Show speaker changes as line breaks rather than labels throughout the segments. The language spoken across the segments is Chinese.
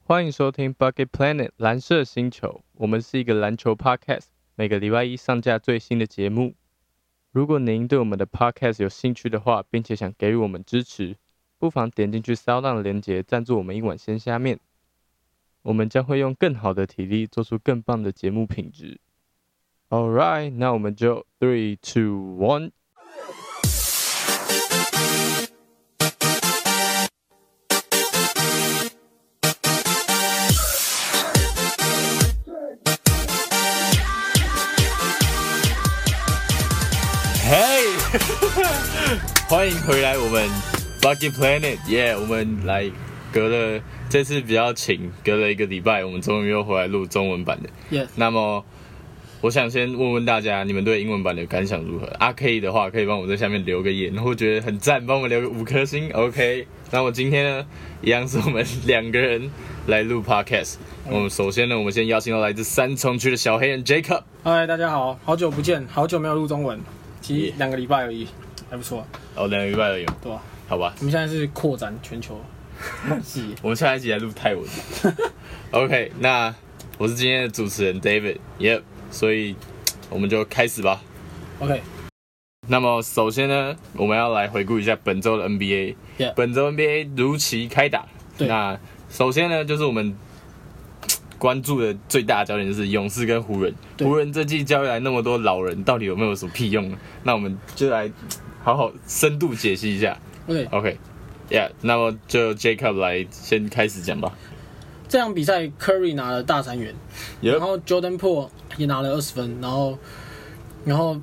欢迎收听 Bucket Planet 蓝色星球，我们是一个篮球 podcast， 每个礼拜一上架最新的节目。如果您对我们的 podcast 有兴趣的话，并且想给予我们支持，不妨点进去SoundOn的连结，赞助我们一碗鲜虾面。我们将会用更好的体力做出更棒的节目品质。Alright， 那我们就3、2、1。嘿，欢迎回来我们 Bucket Planet， 耶！我们来隔了这次比较勤，隔了1个礼拜，我们终于又回来录中文版的。
Yes。
那么，我想先问问大家，你们对英文版的感想如何？可以的话，可以帮我在下面留个言，或觉得很赞，帮我们留个5颗星。OK。那我今天呢，一样是我们2个人来录 Podcast。我们首先呢，我们先邀请到来自三重区的小黑人 Jacob。
嗨，大家好，好久不见，好久没有录中文。其实2个礼拜而已，还不错。
哦，2个礼拜而已。
对吧？
好吧。
我们现在是扩展全球系。
我们下一集来录泰文。OK， 那我是今天的主持人 David， 所以我们就开始吧。
OK。
那么首先呢，我们要来回顾一下本周的 NBA。本周 NBA 如期开打。那首先呢，就是我们关注的最大的焦点就是勇士跟湖人。湖人这季交易来那么多老人，到底有没有什么屁用呢？那我们就来好好深度解析一下。OK，那么就 Jacob 来先开始讲吧。
这场比赛 Curry 拿了大3元，然后 Jordan Poole 也拿了20分，然后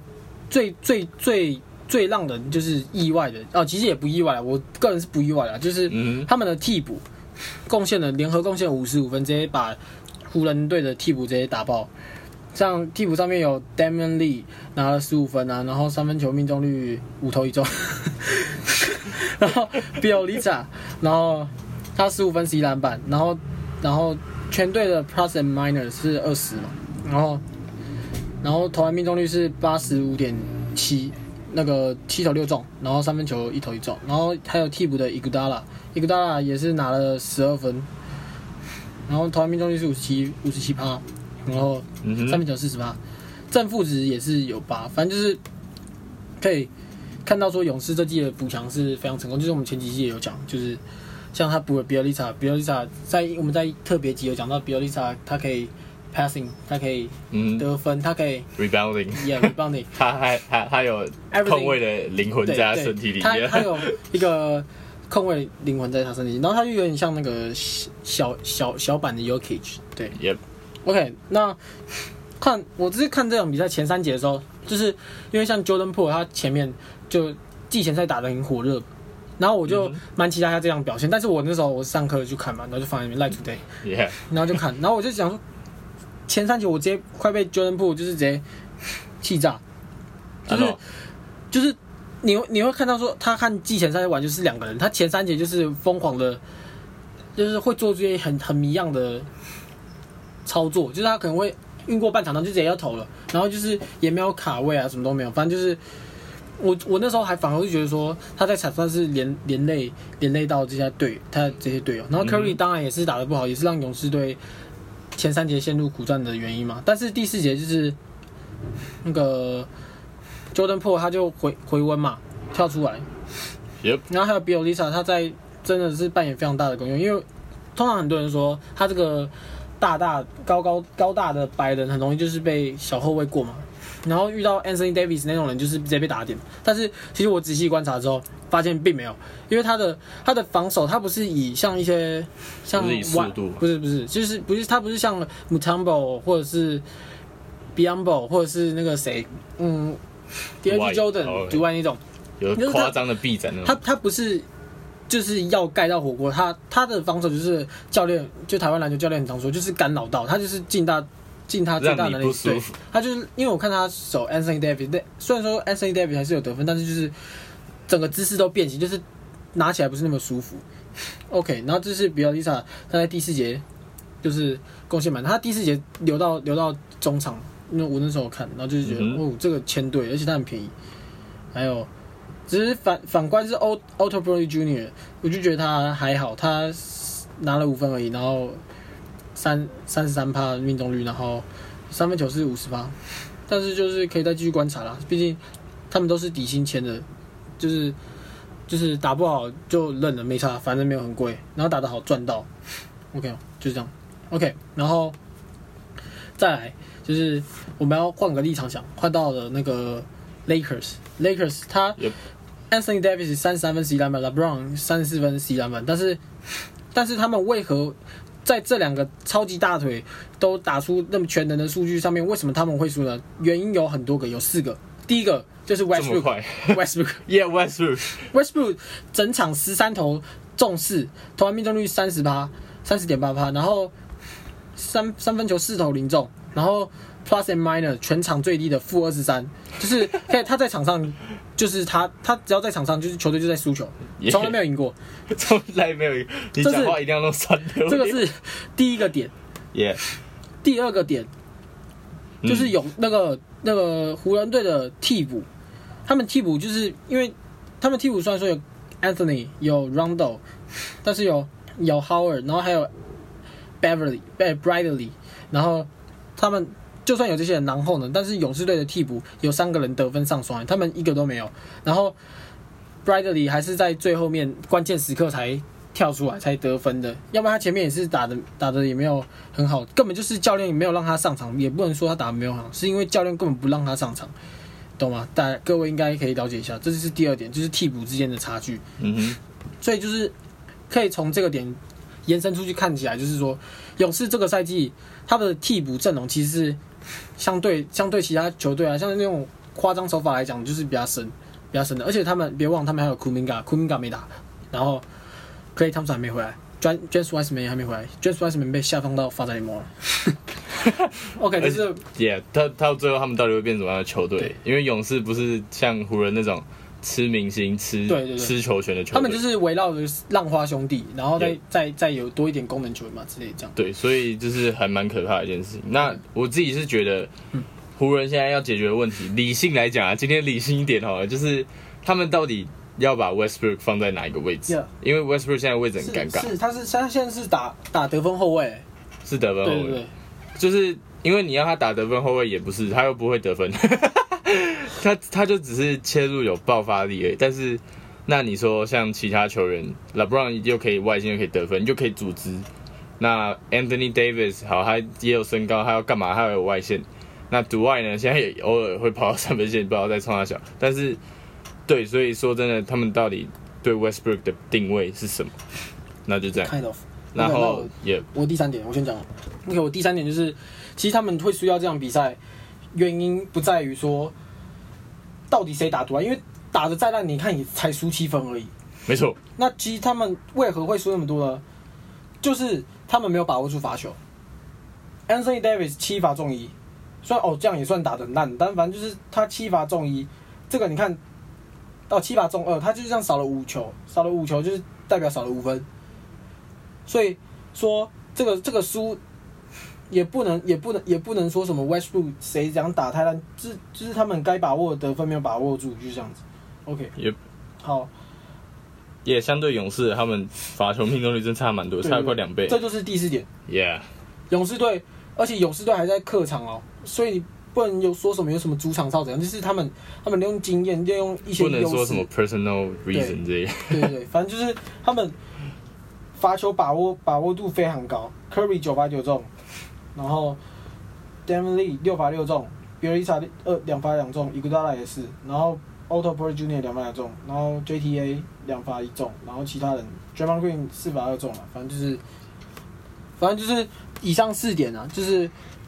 最让人就是意外的其实也不意外啦，我个人是不意外啦，就是他们的替补联合贡献55分，直接把湖人队的替补直接打爆。像替补上面有 Damian Lee 拿了15分然后3分球命中率5投1中，然后 Bjelica 然后他15分11篮板，然后全队的 plus and minus 是20嘛，然后投篮命中率是 85.7%， 那个7投6中，然后3分球1投1中，然后还有替补的 Iguodala 也是拿了12分，然后投篮命中率是57%，然后3分球40%，正负值也是有8，反正就是可以看到说勇士这季的补强是非常成功，就是我们前几季也有讲，就是像他补了 Bjelica 我们在特别集有讲到 Bjelica 他可以 passing， 他可以得分，他可以 rebounding，
他有控卫的灵魂在他身体里面，
他有一个控卫灵魂在他身体里，然后他就有点像那个小版的 Jokic， 对。OK， 那我只是看这场比赛前3节的时候，就是因为像 Jordan Poole 他前面就季前赛打得很火热，然后我就蛮期待他这样表现，但是我那时候我上课去看嘛，然后就放在那边 Live Today， 然后就看，然后我就想说前3节我直接快被 Jordan Poole 就是直接气炸，就是你会看到说他看季前赛玩就是2个人，他前3节就是疯狂的，就是会做出一些很迷样的操作，就是他可能会运过半场，然后就直接要投了，然后就是也没有卡位什么都没有，反正就是我那时候还反而就觉得说他在场上是连累到他这些队友，然后 Curry 当然也是打得不好，也是让勇士队前3节陷入苦战的原因嘛。但是第4节就是那个 Jordan Poole 他就回温嘛，跳出来，然后还有 Bjelica 他在真的是扮演非常大的功用，因为通常很多人说他这个高大的白人很容易就是被小后卫过嘛，然后遇到 Anthony Davis 那种人就是直接被打点。但是其实我仔细观察之后发现并没有，因为他的防守他不是以像一些像
不是以速度，
不是，就是他不是像 Mutombo 或者是 Biyombo 或者是那个谁DeAndre Jordan 之外那种
有夸张的臂展那种，
他不是。就是要盖到火锅，他的防守就是台湾篮球教练很常说，就是干扰到他，就是尽他最大能力。对，他就是因为我看他守 Anthony Davis， 虽然说 Anthony Davis 还是有得分，但是就是整个姿势都变形，就是拿起来不是那么舒服。OK， 然后这是比尔丽莎，他在第4节就是贡献满，他第4节留到中场，因为我那时候看，然后就是觉得这个签对，而且他很便宜，还有。只是反观是 Otto Porter Jr.， 我就觉得他还好，他拿了5分而已，然后33%命中率，然后三分球是50%，但是就是可以再继续观察啦，毕竟他们都是底薪签的，就是打不好就认了，没差，反正没有很贵，然后打得好赚到 ，OK， 就是这样 ，OK， 然后再来就是我们要换个立场想，换到了那个 Lakers 他。Anthony Davis 33分11篮板 ，LeBron 34分11篮板，但是他们为何在这两个超级大腿都打出那么全能的数据上面，为什么他们会输呢？原因有很多个，有4个。第一个就是 Westbrook， 整场13投中4，投篮命中率30.8%，然后三分球4投0中，然后 Plus and Minus 全场最低的-23，就是他在场上。就是他只要在场上，就是球队就在输球，从来没有赢过，
从来没有赢。你讲话一定要弄酸溜。
这个是第一个点。第二个点就是有那个湖人队的替补，他们替补就是因为他们替补虽然说有 Anthony 有 Rondo， 但是有 Howard， 然后还有 Bradley， 然后他们。就算有这些人，然后呢？但是勇士队的替补有3个人得分上双，他们一个都没有。然后 Bradley 还是在最后面关键时刻才跳出来才得分的，要不然他前面也是打的也没有很好，根本就是教练也没有让他上场，也不能说他打得没有很好，是因为教练根本不让他上场，懂吗？各位应该可以了解一下，这就是第二点，就是替补之间的差距。所以就是可以从这个点延伸出去看起来，就是说勇士这个赛季他的替补阵容其实是。相对其他球队啊，像那种夸张手法来讲，就是比较深的。而且他们别忘，他们还有 Kuminga 没打，然后 Klay Thompson 还没回来 ，James Wiseman 也还没回来 ，James Wiseman 被下放到发展联盟了。OK， 就是
他到最后他们到底会变什么样的球队？因为勇士不是像湖人那种吃明星、吃球权的球队，
他们就是围绕着浪花兄弟，然后再有多一点功能球员嘛之类这样。
对，所以就是还蛮可怕的一件事情。那我自己是觉得，湖人现在要解决的问题，理性来讲啊，今天理性一点好了，就是他们到底要把 Westbrook 放在哪一个位置？因为 Westbrook 现在位置很尴尬。
他现在是打得分后卫，
是得分后卫，
对，
就是因为你要他打得分后卫也不是，他又不会得分。他就只是切入有爆发力而已，但是那你说像其他球员 ，LeBron 又可以外线又可以得分，又可以组织。那 Anthony Davis 好，他也有身高，他要干嘛？他有外线。那Dwight呢？现在也偶尔会跑到3分线，不知道在冲他小。但是对，所以说真的，他们到底对 Westbrook 的定位是什么？那就这样。
Kind of。
然后
我第3点，我先讲。OK， 我第3点就是，其实他们会输掉这场比赛，原因不在于说。到底谁打多啊？因为打得再烂，你看也才输7分而已。
没错。
那其实他们为何会输那么多呢？就是他们没有把握住罚球。Anthony Davis 7罚中1，虽然这样也算打得很烂，但反正就是他7罚中1，这个你看到7罚中2，他就是这样少了5球，就是代表少了5分。所以说这个输。也不能说什么 Westbrook 谁讲打太烂，就是他们该把握的得分没有把握住，就是这样子。OK， 好，
也相对勇士他们罚球命中率真差蛮多，差快2倍。
这就是第4点。
Yeah，
勇士队，而且勇士队还在客场哦，所以你不能有说什么有什么主场哨怎样，就是他们利用经验，利用一些优势，
不能说什么 personal reason 这些。
对，反正就是他们罚球把握度非常高 ，Curry 9罚9中。然后 Damian Lee 6罚6中，比尔伊查2罚2中，伊古达拉也是，然后 Otto Porter Jr. 2罚2中，然后 JTA 2罚1中，然后其他人 Draymond Green 4罚2中了，反正就是以上4点啊，就是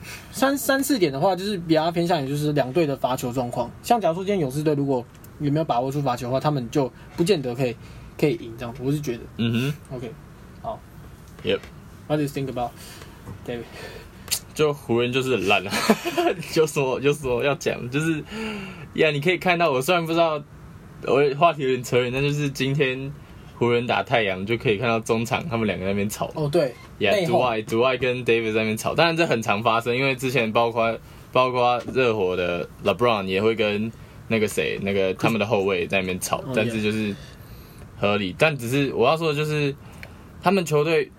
3、4点的话，就是比较偏向于就是两队的罚球状况。像假如说今天勇士队如果有没有把握住罚球的话，他们就不见得可以赢这样，我是觉得。OK， 好。What do you think about David？
就湖人就是很烂啊，有什么要讲，就是你可以看到，我虽然不知道，我话题有点扯远，但就是今天湖人打太阳就可以看到中场他们2个在那边吵。
对。
Dwight 跟 Davis 在那边吵，当然这很常发生，因为之前包括热火的 LeBron 也会跟那个他们的后卫在那边吵，但是就是合理。但只是我要说的就是，他们球队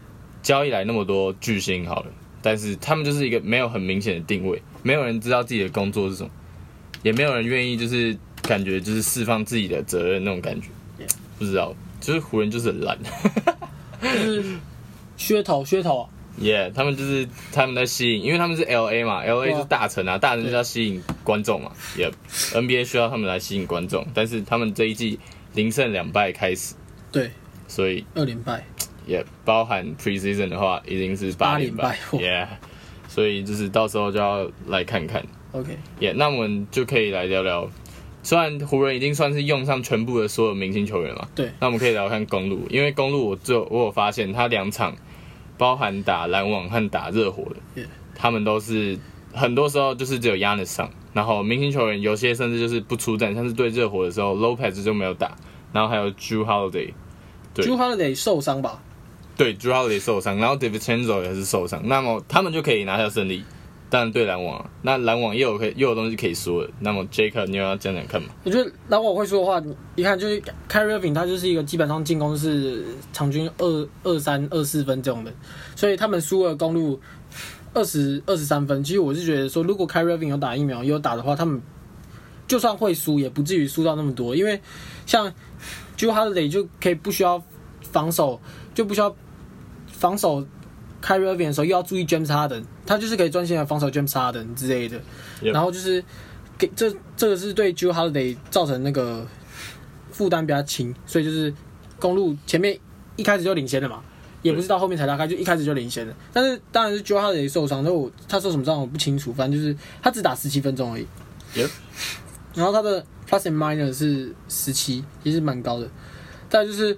交易来那么多巨星好了，但是他们就是一个没有很明显的定位，没有人知道自己的工作是什么，也没有人愿意就是感觉就是释放自己的责任那种感觉，不知道，就是湖人就是很烂，
就是噱头啊。
他们就是他们在吸引，因为他们是 LA 嘛，LA 就是大城啊，大城就是要吸引观众嘛，NBA 需要他们来吸引观众，但是他们这一季0胜2败开始，
对，
所以
2连败，
包含 preseason 的话，已经是8连败，所以就是到时候就要来看看
，OK，
那我们就可以来聊聊。虽然湖人已经算是用上全部的所有明星球员嘛，
对，
那我们可以聊看公鹿，因为公鹿我有发现他2场。包含打篮网和打热火的，他们都是很多时候就是只有 Giannis 上，然后明星球员有些甚至就是不出战，像是对热火的时候 Lopez 就没有打，然后还有 Jrue Holiday，Jrue
Holiday 受伤吧？
对 ，Jrue Holiday 受伤，然后 DiVincenzo 也是受伤，那么他们就可以拿下胜利。当然对篮网，那篮网又有东西可以说的。那么 Jacob 你有要讲看吗？
我觉得篮网会说的话，你看就是 Kyrie Irving 他就是一个基本上进攻是场均23、24分这种的，所以他们输了公鹿23分。其实我是觉得说，如果 Kyrie Irving 有打疫苗有打的话，他们就算会输，也不至于输到那么多。因为像 Jrue Holiday 就可以不需要防守，就不需要防守。Kyrie Irving 的时候又要注意 James Harden， 他就是可以专心的防守 James Harden 之类的，然后就是给这个是对 Jrue Holiday 造成那个负担比较轻，所以就是公鹿前面一开始就领先了嘛，也不是到后面才拉开，就一开始就领先了。但是当然是 Jrue Holiday 受伤，他受什么伤我不清楚，反正就是他只打17分钟而已。然后他的 plus and minus 是17，也是蛮高的。再来就是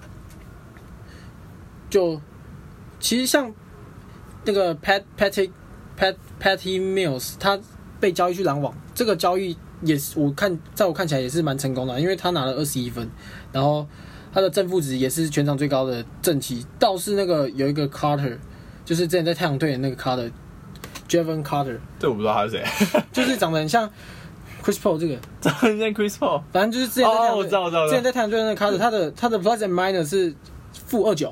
其实像那个 Patty Mills， 他被交易去篮网，这个交易也是在我看起来也是蛮成功的，因为他拿了21分，然后他的正负值也是全场最高的正期。倒是那个有一个 Carter， 就是之前在太阳队的那个 Carter，Jevon Carter，
这我不知道他是谁，
就是长得很像 Chris Paul 这个，
长得很像 Chris Paul，
反正就是之前在太阳队，
我知道，
之前在太阳队的那个 Carter， 他的 plus and minus 是-29。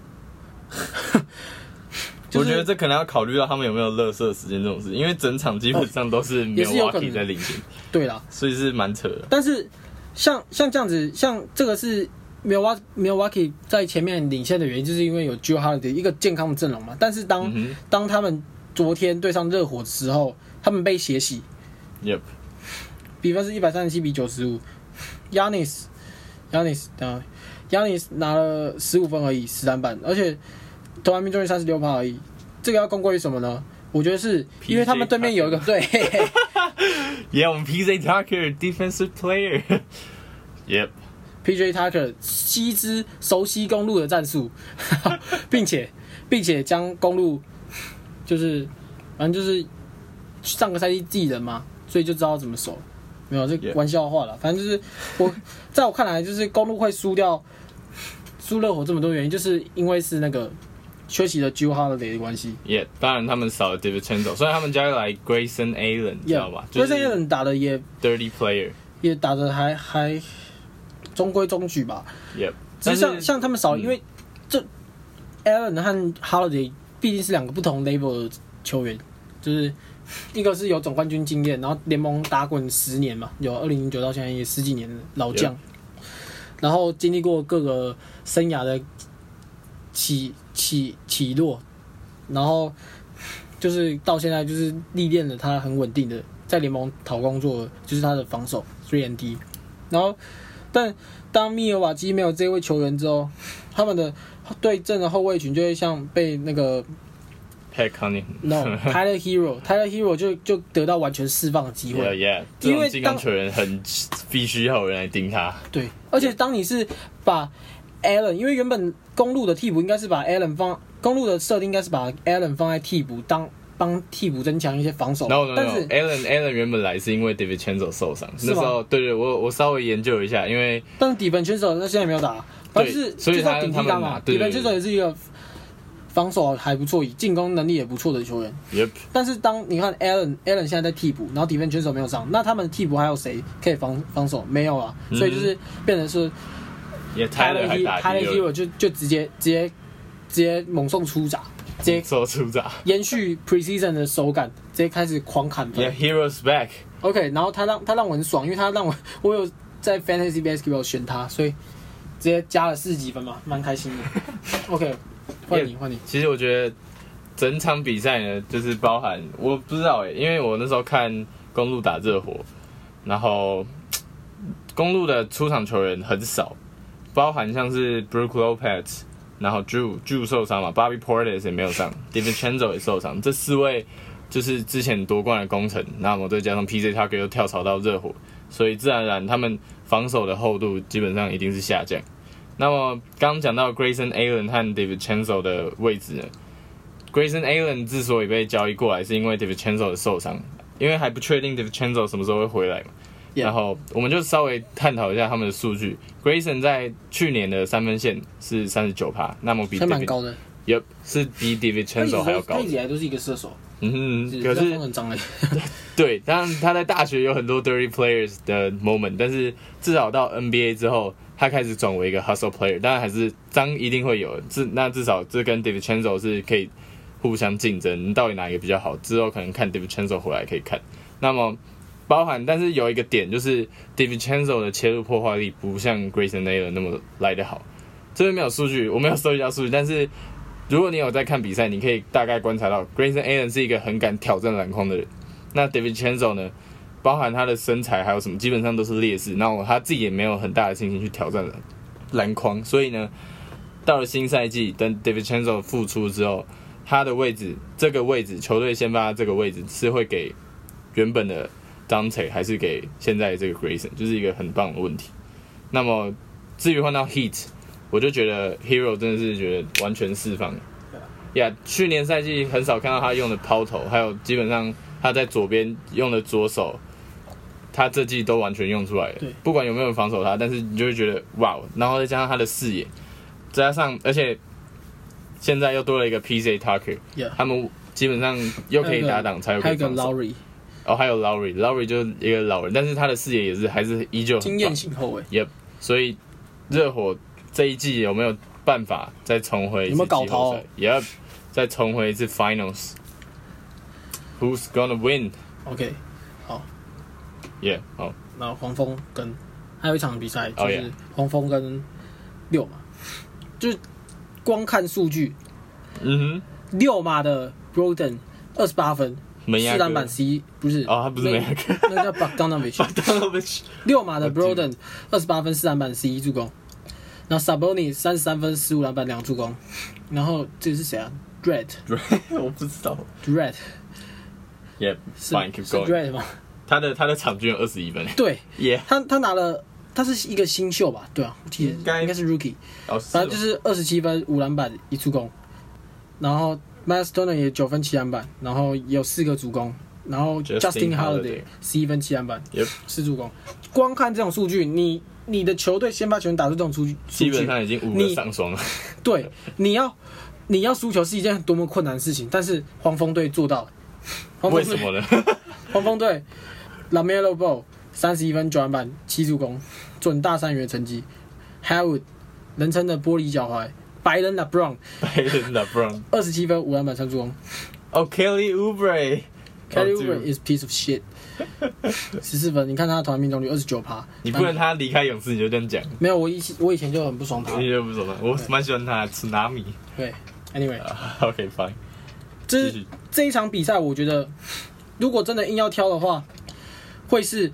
我觉得这可能要考虑到他们有没有垃圾时间这种事，因为整场基本上都是 Milwaukee 在领先，
对啦，
所以是蛮扯的。
但是像这样子，像这个是 Milwaukee 在前面领先的原因，就是因为有 Jrue Holiday 一个健康的阵容嘛。但是当他们昨天对上热火的时候，他们被血洗，比分是137-95 ，Giannis 拿了15分而已，13板，而且投篮命中率36%而已。这个要公归于什么呢？我觉得是因为他们对面有一个对
我们 PJ Tucker defensive player，
PJ Tucker 熟悉公鹿的战术，并且将公鹿就是反正就是上个赛季自己人嘛，所以就知道怎么守。没有，这玩笑话了。反正就是在我看来，就是公鹿会输热火这么多原因，就是因为是那个缺席了 Jrue Holiday 的关系。
当然他们少了 DiVincenzo， 所以他们加来 Grayson Allen， 知道吧
？Grayson Allen 打的也
dirty player，
也打的还中规中矩吧。只是像他们少，因为这 Allen 和 Holiday 毕竟是两个不同 level 的球员，就是一个是有总冠军经验，然后联盟打滚10年嘛，有2009到现在也10几年的老将。然后经历过各个生涯的起落，然后就是到现在就是历练了他很稳定的在联盟讨工作，就是他的防守 3&D。然后，但当密尔瓦基没有这位球员之后，他们的对阵的后卫群就会像被那个
Pat Connaughton，Tyler
Hero 就得到完全释放的机会。
这种进攻球员必须要有人来盯他。
对，而且当你是把 Allen， 因为原本公鹿的替补应该是把 Allen 公鹿的设定应该是把 Allen 放在替补帮替补增强一些防守。但是
Allen 原本来是因为 DiVincenzo 受伤，那时候对我稍微研究一下，因为
但是DiVincenzo他现在没有打，反正
所以
他顶替他嘛。DiVincenzo 也是一个防守还不错，进攻能力也不错的球员。但是当你看 Allen 现在在替补，然后DiVincenzo没有上，那他们替补还有谁可以防守？没有啊，所以就是变成是。
Tyler Hero
就直接直接猛送出闸，直接
出闸，
延续 preseason 的手感，直接开始狂砍分。
Yeah, heroes back.
OK， 然后他让我很爽，因为他让我有在 Fantasy Basketball 选他，所以直接加了40几分嘛，蛮开心的。OK， 换你。
其实我觉得整场比赛呢，就是包含我不知道因为我那时候看公鹿打热火，然后公鹿的出场球员很少，包含像是 Brook Lopez， 然后 Drew 受伤嘛 ，Bobby Portis 也没有上 ，DiVincenzo 也受伤，这4位就是之前夺冠的功臣，那么再加上 PJ Tucker 又跳槽到热火，所以自然而然他们防守的厚度基本上一定是下降。那么刚刚讲到 Grayson Allen 和 DiVincenzo 的位置呢 ，Grayson Allen 之所以被交易过来，是因为 DiVincenzo 的受伤，因为还不确定 DiVincenzo 什么时候会回来嘛。然后我们就稍微探讨一下他们的数据。Grayson 在去年的3分线是 39%， 那么比
蛮高的，
是比 DiVincenzo 还要高。
他一直以来都是一个射手。
可是
很脏而已。
对，当然他在大学有很多 dirty players 的 moment， 但是至少到 NBA 之后，他开始转为一个 hustle player。当然还是脏一定会有，那至少这跟 DiVincenzo 是可以互相竞争，到底哪一个比较好？之后可能看 DiVincenzo 回来可以看。那么包含，但是有一个点就是 DiVincenzo 的切入破坏力不像 Grayson Allen 那么来得好。这边没有数据，我没有收集到数据，但是如果你有在看比赛，你可以大概观察到 Grayson Allen 是一个很敢挑战篮筐的人。那 DiVincenzo 呢，包含他的身材还有什么，基本上都是劣势。然后他自己也没有很大的信心去挑战篮筐，所以呢，到了新赛季，等 DiVincenzo 复出之后，他的位置，这个位置，球队先发这个位置是会给原本的Dante 还是给现在这个 Grayson， 就是一个很棒的问题。那么至于换到 Heat， 我就觉得 Hero 真的是觉得完全释放。去年赛季很少看到他用的抛投，还有基本上他在左边用的左手，他这季都完全用出来了。不管有没有人防守他，但是你就会觉得哇，然后再加上他的视野，加上而且现在又多了一个 PJ Tucker， 他们基本上又可以打挡，才有可以防守。
还有一个 Lowry。
还有 Lowry 就是一个老人，但是他的视野也是还是依旧很棒，
经验型后卫。
所以热火这一季有没有办法再重回一次季后赛？
有没有搞头？
也再重回一次 Finals。Who's gonna win？
OK， 好。
好。
然后黄蜂跟还有一场比赛就是黄蜂跟六马，就是光看数据，6马的 Brogdon 28分。4篮板11不是
他不是梅亚克，
那叫 Bogdanovic。6马的 Brogdon 28分4篮板11助攻，然后 Sabonis 33分15篮板2助攻，然后这个是谁啊 ？Dredd
我不知道
Dredd。
Fine, keep going.
Dredd 吗？
他的场均有21分。
对，他拿了，他是一个新秀吧？对啊，我记得应该是 Rookie。反正就是27分5篮板1助攻，然后。Miles Turner 也9分7篮板，然后也有4个助攻，然后 Justin Holiday 11分7篮板，4助攻。光看这种数据，你的球队先发球员打出这种数据，
基本上已经5个上双了。
对，你要输球是一件多么困难的事情，但是黄蜂队做到了。
为什么呢？
黄蜂队 LaMelo Ball 31分9篮板7助攻，准大三元的成绩。Howard 人称的玻璃脚踝。白人 LeBron 27分5篮板3助攻。
Kelly Oubre
is piece of shit 14分，你看他的投篮命中率29%。
你不能他离开勇士你就这样讲。
没有，我以前就很不爽他。
你就不爽他，我蛮喜欢他的 Tsunami。
对 ，Anyway，
OK fine。
这一场比赛，我觉得如果真的硬要挑的话，会是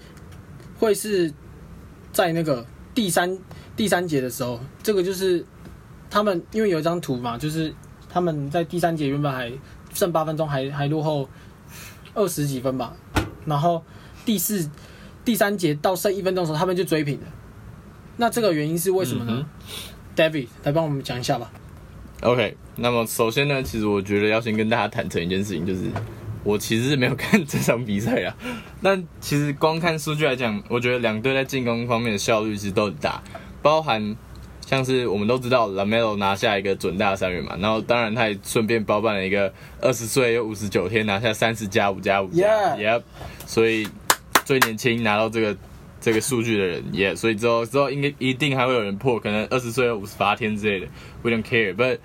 在那个第三节的时候，这个就是。他们因为有一张图嘛，就是他们在第3节原本还剩8分钟，还落后20几分吧，然后第3节到剩1分钟的时候，他们就追平了。那这个原因是为什么呢？David 来帮我们讲一下吧。
OK， 那么首先呢，其实我觉得要先跟大家坦诚一件事情，就是我其实是没有看这场比赛啊。但其实光看数据来讲，我觉得两队在进攻方面的效率其实都很大，包含。像是我们都知道 LaMelo 拿下一个准大三元嘛，然后当然他也顺便包办了一个20岁又59天拿下30+5+5+，所以最年轻拿到这个数据的人，所以之后应该一定还会有人破，可能20岁又58天之类的 ，We don't care， but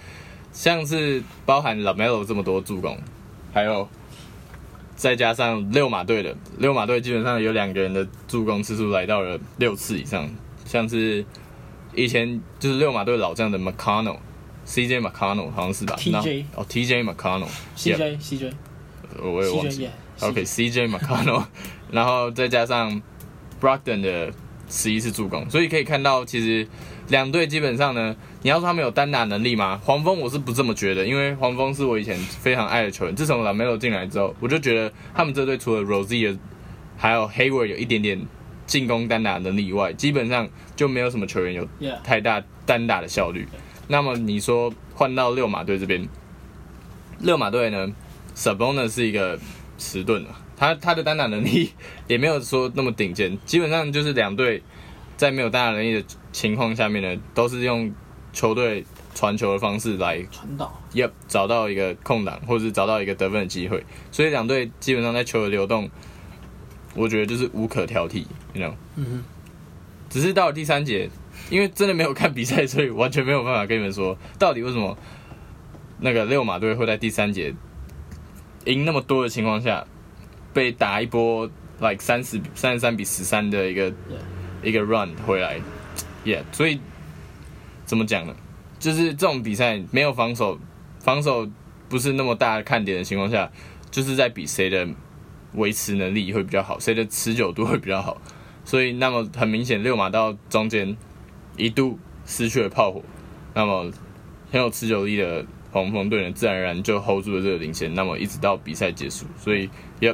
像是包含 LaMelo 这么多助攻，还有再加上六马队基本上有2个人的助攻次数来到了6次以上，像是以前就是六马队老将的 CJ McConnell 好像是吧 ？TJ
McConnell，CJ，
我也忘记。CJ McConnell， 然后再加上 Brogdon 的11次助攻，所以可以看到，其实2队基本上呢，你要说他们有单打能力吗？黄蜂我是不这么觉得，因为黄蜂是我以前非常爱的球员。自从 LaMelo 进来之后，我就觉得他们这队除了 Rozier 还有 Hayward 有一点点进攻单打能力以外，基本上就没有什么球员有太大单打的效率。那么你说换到六马队这边，六马队呢 ，Sabonis 是一个迟钝的，他的单打能力也没有说那么顶尖，基本上就是2队在没有单打能力的情况下面呢，都是用球队传球的方式来
传导，
找到一个空档，或者是找到一个得分的机会，所以2队基本上在球的流动，我觉得就是无可挑剔 ，you know， 只是到了第3节。因为真的没有看比赛，所以完全没有办法跟你们说到底为什么那个六马队会在第3节赢那么多的情况下被打一波 like 33-13的一个 run 回来 ，yeah， 所以怎么讲呢？就是这种比赛没有防守不是那么大的看点的情况下，就是在比谁的维持能力会比较好，谁的持久度会比较好。所以那么很明显，六马到中间一度失去了炮火，那么很有持久力的黄蜂队呢，自然而然就 hold 住了这个领先，那么一直到比赛结束，所以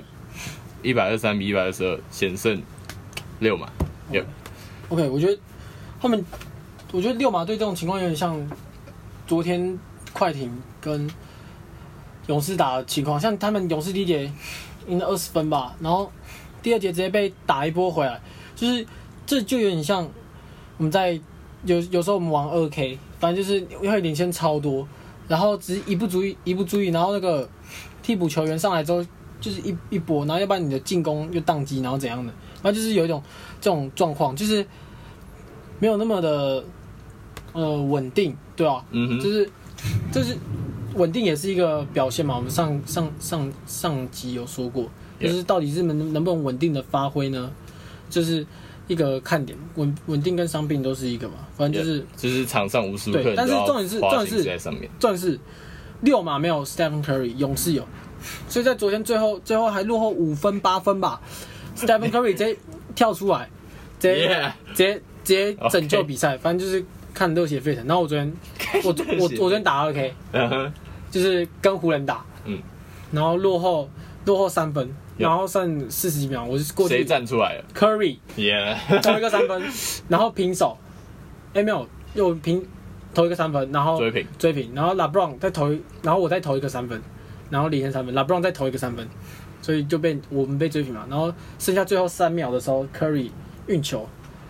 123比122险胜六马。
OK， 我觉得六马队这种情况有点像昨天快艇跟勇士打的情况，像他们勇士第1节赢了20分吧，然后第2节直接被打一波回来，就是这就有点像我们在有时候我们玩2K， 反正就是会领先超多，然后只是一不注意，然后那个替补球员上来之后就是一波，然后要不然你的进攻又宕机，然后怎样的，反正就是有一种这种状况，就是没有那么的稳定，对吧？就是稳定也是一个表现嘛。我们上集有说过，就是到底是能不能稳定的发挥呢？就是一个看点，稳定跟伤病都是一个嘛，反正
就是场上无时无刻
对，但是重点是六马没有 Stephen Curry， 勇士有，所以在昨天最后还落后5分8分吧，Stephen Curry 直接跳出来，直接拯救比赛，反正就是看热血沸腾。然后我昨天打2K， 就是跟湖人打，然后落后3分。然后剩40几秒，我就过去。
谁站出来了
？Curry， 投一个3分，然后平手。没有，又投一个3分，然后追平，然后 LeBron 然后我再投一个3分，然后领先3分 ，LeBron 再投一个3分，所以就我们被追平嘛。然后剩下最后3秒的时候 ，Curry 运球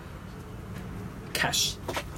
，Cash，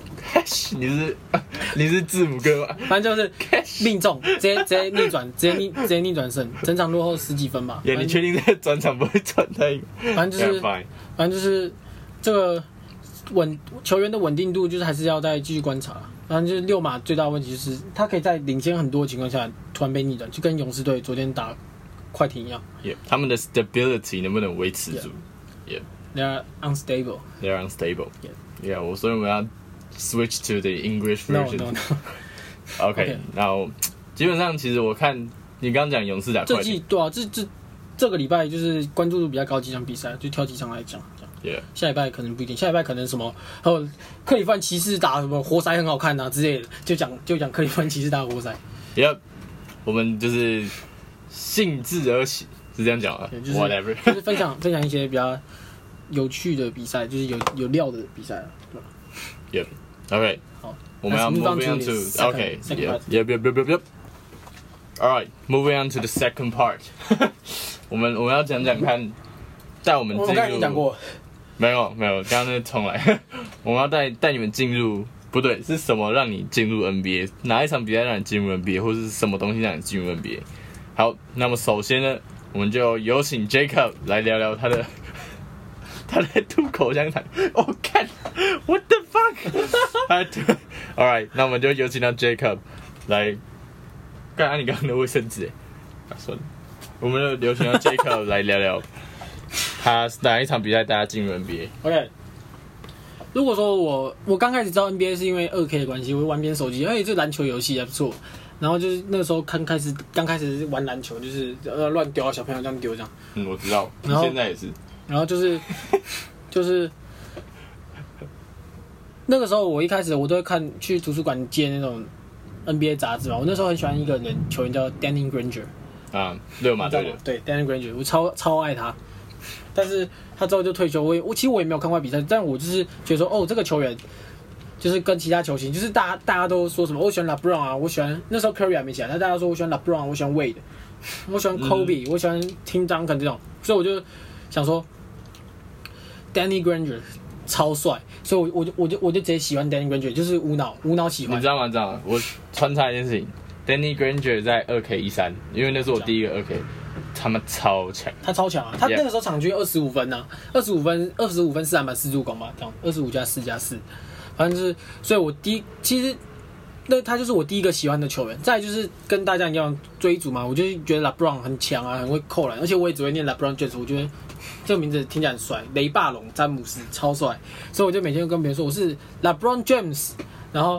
你是字母哥吗？
反正就是命中，直接逆转，直接逆转胜，整场落后10几分吧。
你确定这个转场不会转太？
反正就是这个球员的稳定度，就是还是要再继续观察。反正就是六马最大的问题就是他可以在领先很多的情况下突然被逆转，就跟勇士队昨天打快艇一样。
他们的 stability 能不能维持住
？They are unstable.
Yeah， 所以我们要 switch to the English version.
No.
OK， 然后基本上其实我看你刚刚讲勇士打快艇，
对啊，这个礼拜就是关注度比较高几场比赛，就挑几场来讲。下礼拜可能不一定，下礼拜可能什么，还有克利夫兰骑士打什么活塞很好看啊之类的，就讲克利夫兰骑士打活塞。
我们就是兴致而起，是这样讲啊。Whatever，
就是分享一些比较有趣的比赛，就是有料的比赛，
对吧？OK， 好，我们要 moving on to OK， Yep. All right, moving on to the second part 我们要讲看，带我们进入。
我刚才已经讲过。
没有，刚刚那重来。我们要带你们进入，不对，是什么让你进入 NBA？ 哪一场比赛让你进入 NBA， 或是什么东西让你进入 NBA？ 好，那么首先呢，我们就有请 Jacob 来聊聊他的吐口香糖。看 ，What the fuck？ All right， 那我们就有请到 Jacob 来干，你刚刚的卫生纸算了，我们的流行要 Jacob 来聊聊，他哪一场比赛大家进入 NBA。
OK， 如果说我刚开始知道 NBA 是因为2K 的关系，我玩别人手机，这篮球游戏还不错。然后就是那个时候刚开始玩篮球，就是乱丢啊，小朋友这样丢这样。
我知道，你现在也是。然
后就是那个时候我一开始我都会去图书馆借那种 NBA 杂志嘛。我那时候很喜欢一个球员叫 Danny Granger。热马队的。对 ，Danny Granger， 我超爱他。但是他之后就退休，其实我也没有看过比赛，但我就是觉得说，这个球员就是跟其他球星，就是大家都说什么，我喜欢 LeBron 啊，我喜欢那时候 Curry 还没起来，但大家说我喜欢 LeBron， 我喜欢 Wade， 我喜欢 Kobe，我喜欢 Tim Duncan 这种，所以我就想说 Danny Granger 超帅，所以我就直接喜欢 Danny Granger， 就是无脑喜欢。
你知道吗？我穿插一件事情 ，Danny Granger 在2K13，因为那是我第一个2K。他们超强，他超强啊！他那个时候场均25分啊，25分4篮板4助攻吧，这样25加4加4，反正就是，所以其实那他就是我第一个喜欢的球员。再来就是跟大家一样追逐嘛，我就觉得 LeBron 很强啊，很会扣篮，而且我也只会念 LeBron James， 我觉得这个名字听起来很帅，雷霸龙詹姆斯超帅，所以我就每天都跟别人说我是 LeBron James， 然后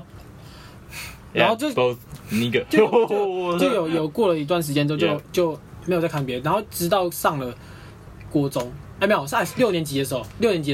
就有过了一段时間之後就沒有再看別人，然後直到上了國中，沒有，是6年級的時候，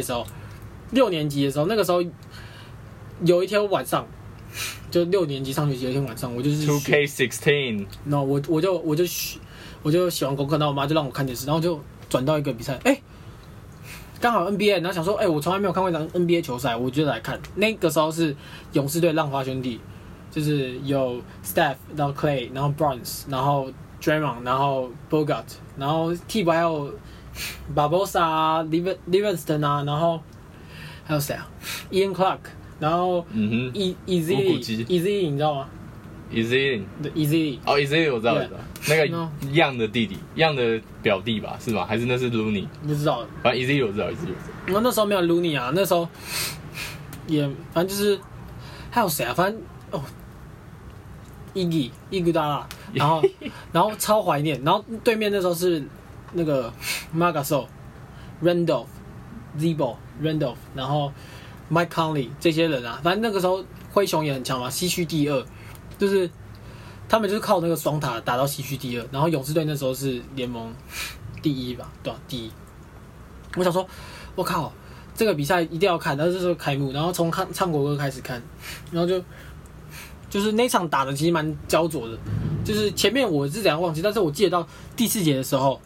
那個時候有一天晚上，就6年級上學期有一天晚上，我就是 2K16，
然後我就寫完功課，然後我媽就讓我看電視，然後就轉到一個比賽，剛好 NBA， 然後想說，我從來沒有看過一場 NBA 球賽，我就來看。那個時候是勇士隊浪花兄弟。就是有 Steph， 然後 Clay， 然後 Bronze， 然後 Draymond， 然後 Bogut， 然後替補還有 Barbosa、Livingston 啊，然後還有誰啊 ？Ian Clark， 然後Eazy， 你知道嗎
？Eazy，
對 Eazy，
哦 Eazy 我知道，那個樣的弟弟，樣的表弟吧，是嗎？還是那是 Looney？
不知道，
反正 Eazy 我知道。
我那時候沒有 Looney 啊，那時候也反正就是還有誰啊？反正伊古达拉，然後超懷念，然後對面那時候是那個 Margasol、Randolph、Zebo、Randolph， 然後 Mike Conley 這些人啊，反正那個時候灰熊也很強嘛，西區第2，就是他們就是靠那個雙塔打到西區第2，然後勇士隊那時候是聯盟第1吧，對吧？第1。我想說，我靠，這個比賽一定要看，然後這時候開幕，然後從唱國歌開始看，然後就是那場打的其實蠻焦灼的，就是前面我是怎樣忘記，但是我記得到第4節的時候，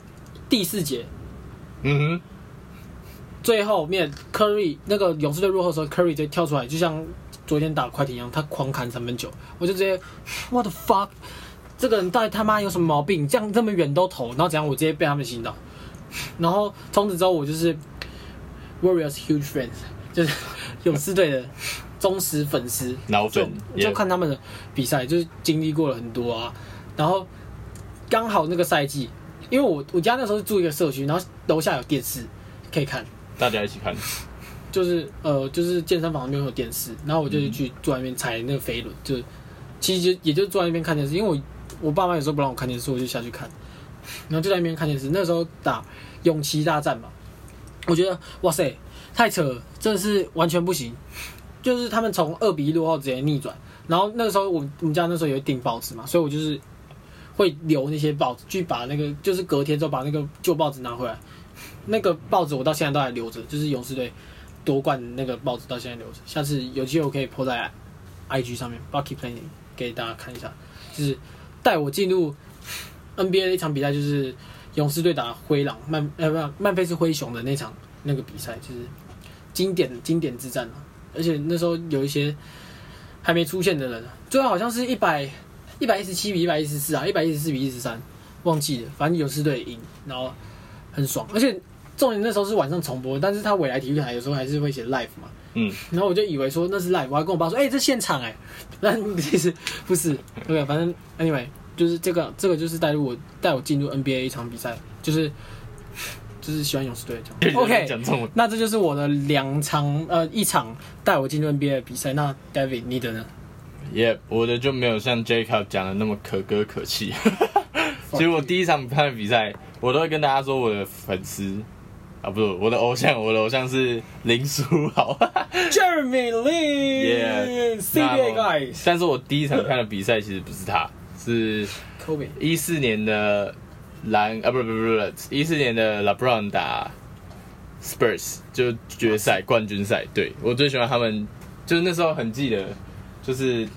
最後面 Curry 那個勇士隊落後的時候 ，Curry 直接跳出來，就像昨天打快艇一樣，他狂砍3分球，我就直接 What the fuck， 這個人到底他媽有什麼毛病？這麼遠都投，然後怎樣我直接被他們洗腦，然後從此之後我就是 Warriors huge fans， 就是勇士隊的。忠實粉絲，就看他們的比賽，就是經歷過了很多啊。然後剛好那個賽季，因為我家那時候是住一個社區，然後樓下有電視可以看，
大家一起看。
就是健身房那邊有電視，然後我就去坐在那邊踩那個飛輪，就其實也就坐在那邊看電視，因為我爸媽有時候不讓我看電視，我就下去看，然後就在那邊看電視。那時候打勇騎大戰嘛，我覺得哇塞太扯了，真的是完全不行。就是他們從2-1落後直接逆轉，然後那個時候我們家那時候有訂報紙嘛，所以我就是會留那些報紙，去把那個就是隔天之後把那個舊報紙拿回來。那個報紙我到現在都還留着，就是勇士隊奪冠那個報紙到現在留着。下次有機會我可以 po 在 IG 上面 Bucky Planning 給大家看一下，就是帶我進入 NBA 的一場比賽，就是勇士隊打灰狼曼菲斯灰熊的那場那個比賽，就是經典之戰啊。而且那時候有一些還沒出現的人，最後好像是117比114啊，114比113，忘記了，反正勇士隊贏，然後很爽。而且重點那時候是晚上重播，但是他未來體育台有時候還是會寫 live 嘛，然後我就以為說那是 live，我還跟我爸說，這現場但其實不是。對，反正 anyway 就是這個就是帶我進入 NBA 一場比賽，就是喜歡勇士隊這樣。OK， 那這就是我的一場帶我進入 NBA 的比賽。那 David 你的呢？
我的就没有像 Jacob 讲的那么可歌可泣。其实我第一场看的比赛，我都会跟大家说我的粉丝啊，不是我的偶像是林书豪
，Jeremy Lin，CBA guys。
但是我第一场看的比赛其实不是他，是
Kobe
14年的不14年的 LeBron 打 Spurs 就决赛冠军赛，对我最喜欢他们，就是那时候很记得，就是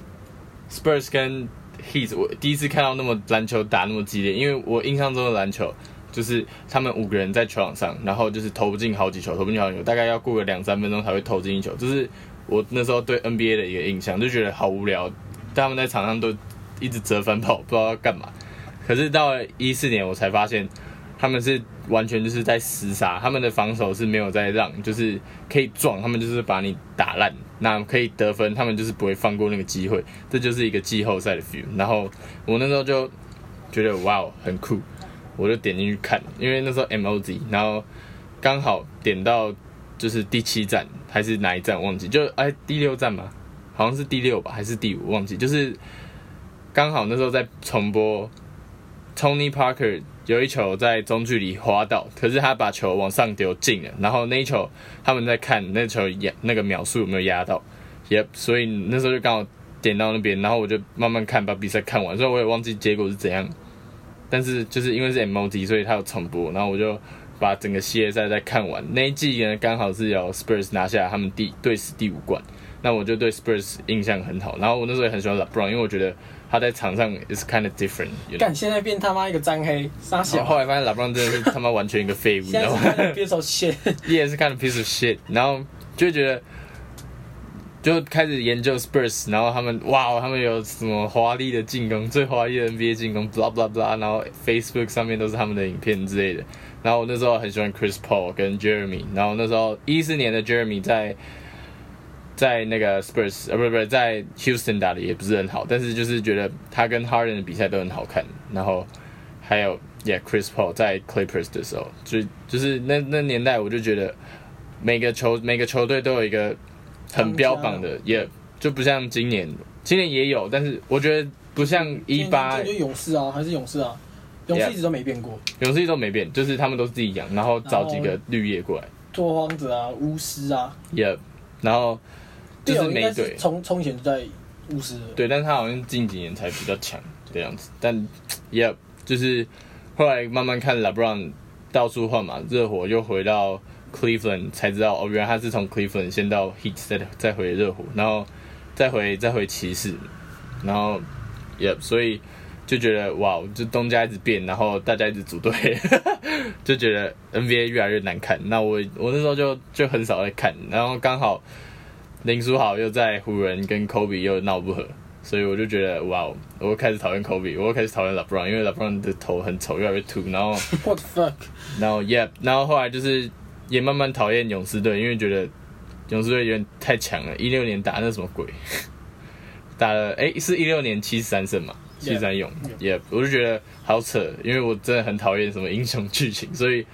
Spurs 跟 Heat， 我第一次看到那么篮球打那么激烈，因为我印象中的篮球就是他们5个人在球场上，然后就是投不进好几球，大概要过个2-3分钟才会投进一球，就是我那时候对 NBA 的一个印象，就觉得好无聊，他们在场上都一直折返跑，不知道要干嘛。可是到了14年，我才发现他们是完全就是在厮杀，他们的防守是没有在让，就是可以撞，他们就是把你打烂，那可以得分，他们就是不会放过那个机会，这就是一个季后赛的 feel。然后我那时候就觉得哇，很酷，我就点进去看，因为那时候 MOD， 然后刚好点到就是第7站还是哪一站忘记，就第6站嘛，好像是第6吧，还是第5忘记，就是刚好那时候在重播。Tony Parker 有一球在中距离滑倒，可是他把球往上丢进了，然后那一球他们在看那球那个秒数有没有压到，所以那时候就刚好点到那边，然后我就慢慢看，把比赛看完，所以我也忘记结果是怎样，但是就是因为是 MOD， 所以他有重播，然后我就把整个系列赛再看完。那一季呢刚好是由 Spurs 拿下他们队史第5冠，那我就对 Spurs 印象很好，然后我那时候也很喜欢 LeBron， 因为我觉得他在场上 is kind of different。
干，现在变他妈一个脏黑，傻小。
后来发现 LeBron 真的是他妈完全一个废物，你知道吗？
现在是 piece of shit，
也是 kind of piece of shit。然后就觉得，就开始研究 Spurs， 然后他们有什么华丽的进攻，最华丽的 NBA 进攻 ，blah blah blah， 然后 Facebook 上面都是他们的影片之类的。然后我那时候很喜欢 Chris Paul 跟 Jeremy， 然后那时候14年的 Jeremy 在那个 Spurs 不是在 Houston 打的也不是很好，但是就是觉得他跟 Harden 的比赛都很好看。然后还有 Chris Paul 在 Clippers 的时候，就是那年代我就觉得每个球队都有一个很标榜的，也就不像今年也有，但是我觉得不像18。
就勇士啊，还是勇士啊，勇士一直都没变过，
勇士一直都没变，就是他们都自己养，然后找几个绿叶过来，
拓荒者啊，巫师啊，
然后。就是每队
从前就在巫师了，
对，但是他好像近几年才比较强的样子。但就是后来慢慢看 LeBron 到处换嘛，热火又回到 Cleveland 才知道原来他是从 Cleveland 先到 Heat 再回热火，然后再回骑士，然后所以就觉得哇，就东家一直变，然后大家一直组队，就觉得 NBA 越来越难看。那我那时候就很少在看，然后刚好。林书豪又在湖人跟 Kobe 又闹不和，所以我就觉得哇，我开始讨厌 Kobe， 我开始讨厌 LeBron， 因为 LeBron 的头很丑，越来越秃，然后
What the fuck，
然后后来就是也慢慢讨厌勇士队，因为觉得勇士队有点太强了。16年打那什么鬼，打了是16年73胜嘛，73勇，我就觉得好扯，因为我真的很讨厌什么英雄剧情，所以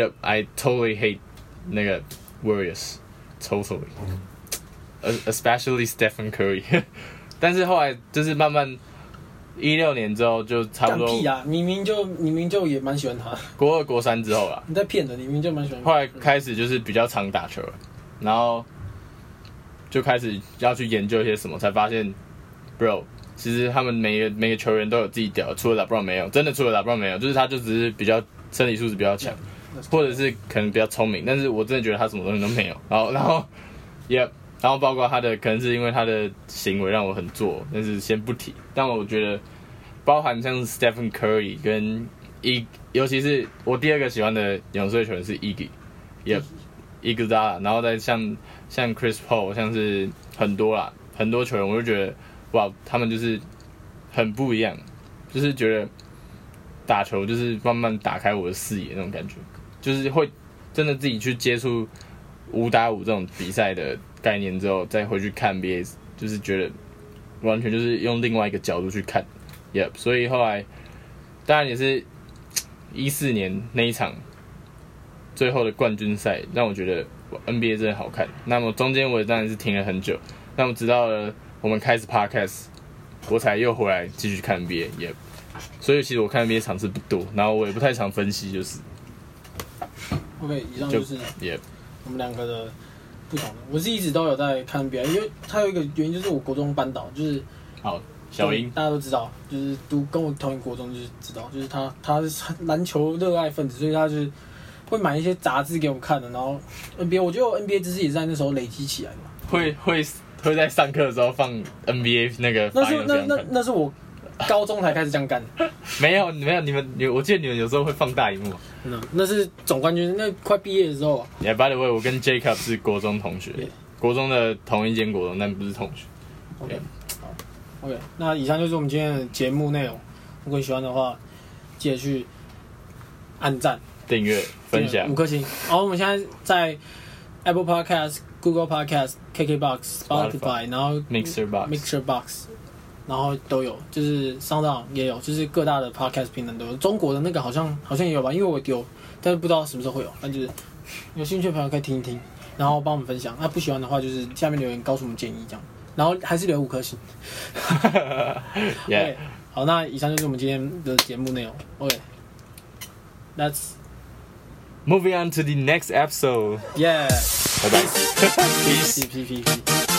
I totally hate 那个 Warriors totally。Especially Stephen Curry， 但是后来就是慢慢16年之后就差不多。
屁啊！你明明就也蛮喜欢他。
国2、国3之后啦。
你在骗人，你明明就蛮喜欢他。
后来开始就是比较常打球了，然后就开始要去研究一些什么，才发现 ，bro， 其实他们每个球员都有自己屌，除了 LeBron 没有，真的除了 LeBron 没有，就是他就只是比较身体素质比较强，或者是可能比较聪明，但是我真的觉得他什么东西都没有。然后包括他的可能是因为他的行为让我很做，但是先不提。但我觉得包含像 Stephen Curry 跟尤其是我第2个喜欢的勇士队球员是 Iguodala， 然后再像 Chris Paul， 像是很多球员，我就觉得哇，他们就是很不一样，就是觉得打球就是慢慢打开我的视野那种感觉，就是会真的自己去接触5打5这种比赛的概念之后，再回去看 NBA， 就是觉得完全就是用另外一个角度去看，所以后来当然也是14年那一场最后的冠军赛，让我觉得 NBA 真的好看。那么中间我也当然是停了很久，那么直到了我们开始 podcast， 我才又回来继续看 NBA， 也，所以其实我看 NBA 场次不多，然后我也不太常分析，就是。
OK， 以上就是我们两个的不同的。我是一直都有在看 NBA， 因为它有一个原因就是我国中班导就是
好小英，
大家都知道，就是跟我同一国中，就是知道，就是他是篮球热爱分子，所以他就是会买一些杂志给我们看的。然后 NBA， 我觉得我 NBA 知识也是在那时候累积起来的嘛。
会在上课的时候放 NBA 那个发言
那是我高中才开始这样干。
没有，我记得你们有时候会放大荧幕。
那是总冠军，那快毕业的时候。
Yeah, by the way， 我跟 Jacob 是国中同学，国中的同一间国中，但不是同学。
OK， 好 ，OK， 那以上就是我们今天的节目内容。如果你喜欢的话，记得去按赞、
订阅、分享
5颗星。好，我们现在在 Apple Podcast、Google Podcast、KKBox、Spotify， 然后 Mixer Box。然后都有，就是 SoundOn 也有，就是各大的 podcast 平台都有。中国的那个好像也有吧，因为我丢，但是不知道什么时候会有。但就是有兴趣的朋友可以听一听，然后帮我们分享。那不喜欢的话，就是下面留言告诉我们建议这样。然后还是留5颗星。
yeah.
好，那以上就是我们今天的节目内容。OK，Let's
moving on to the next episode.
Yeah.
拜拜。
Peace.